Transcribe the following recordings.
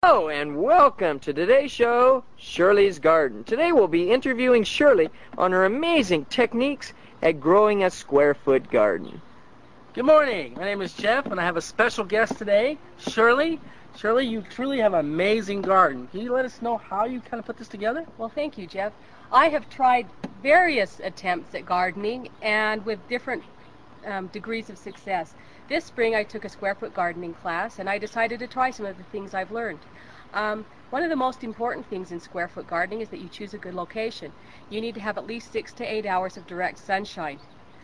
Hello and welcome to today's show, Shirley's Garden. Today we'll be interviewing Shirley on her amazing techniques at growing a square foot garden. Good morning. My name is Jeff, and I have a special guest today, Shirley. Shirley, you truly have an amazing garden. Can you let us know how you kind of put this together? Well, thank you, Jeff. I have tried various attempts at gardening and with different degrees of success. This spring I took a square foot gardening class and I decided to try some of the things I've learned. One of the most important things in square foot gardening is that you choose a good location. You need to have at least 6 to 8 hours of direct sunshine.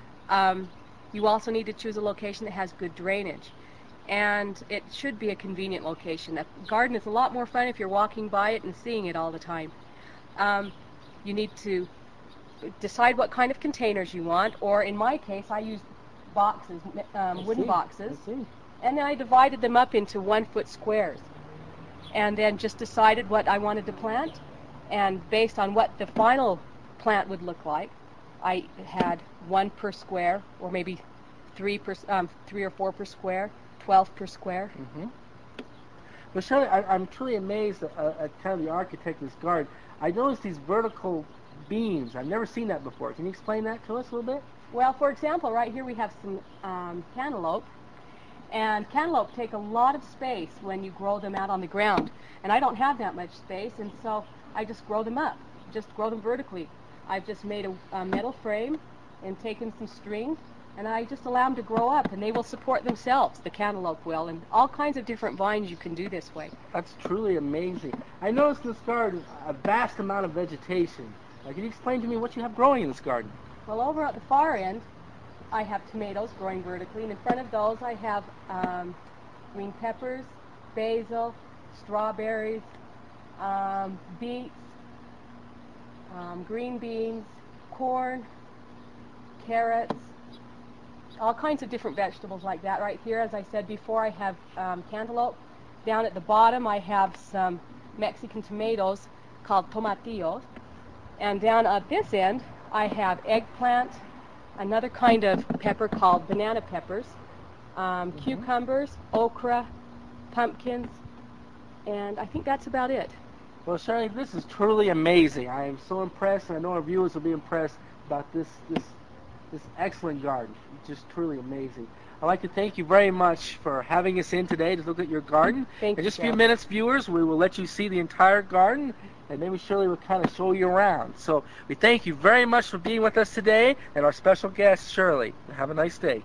You also need to choose a location that has good drainage. And it should be a convenient location. A garden is a lot more fun if you're walking by it and seeing it all the time. You need to decide what kind of containers you want, or in my case I used boxes, wooden boxes, and then I divided them up into 1 foot squares and then just decided what I wanted to plant, and based on what the final plant would look like, I had 1 per square, or maybe 3 or 4 per square, 12 per square. Well, Shirley, I'm truly amazed at kind of the architect of this garden. I noticed these vertical beams. I've never seen that before. Can you explain that to us a little bit? Well, for example, right here we have some cantaloupe, and cantaloupe take a lot of space when you grow them out on the ground, and I don't have that much space, and so I just grow them up, just grow them vertically. I've just made a metal frame and taken some string, and I just allow them to grow up, and they will support themselves, the cantaloupe will, and all kinds of different vines you can do this way. That's truly amazing. I noticed in this garden a vast amount of vegetation. Can you explain to me what you have growing in this garden? Well, over at the far end, I have tomatoes growing vertically, and in front of those I have green peppers, basil, strawberries, beets, green beans, corn, carrots, all kinds of different vegetables like that. Right here, as I said before, I have cantaloupe. Down at the bottom I have some Mexican tomatoes called tomatillos. And down at this end I have eggplant, another kind of pepper called banana peppers, cucumbers, okra, pumpkins, and I think that's about it. Well, Shirley, this is truly amazing. I am so impressed, and I know our viewers will be impressed about this excellent garden. It's just truly amazing. I'd like to thank you very much for having us in today to look at your garden. Thank you, in just a Jeff. few minutes, viewers, we will let you see the entire garden, and maybe Shirley will kind of show you around. So we thank you very much for being with us today, and our special guest, Shirley. Have a nice day.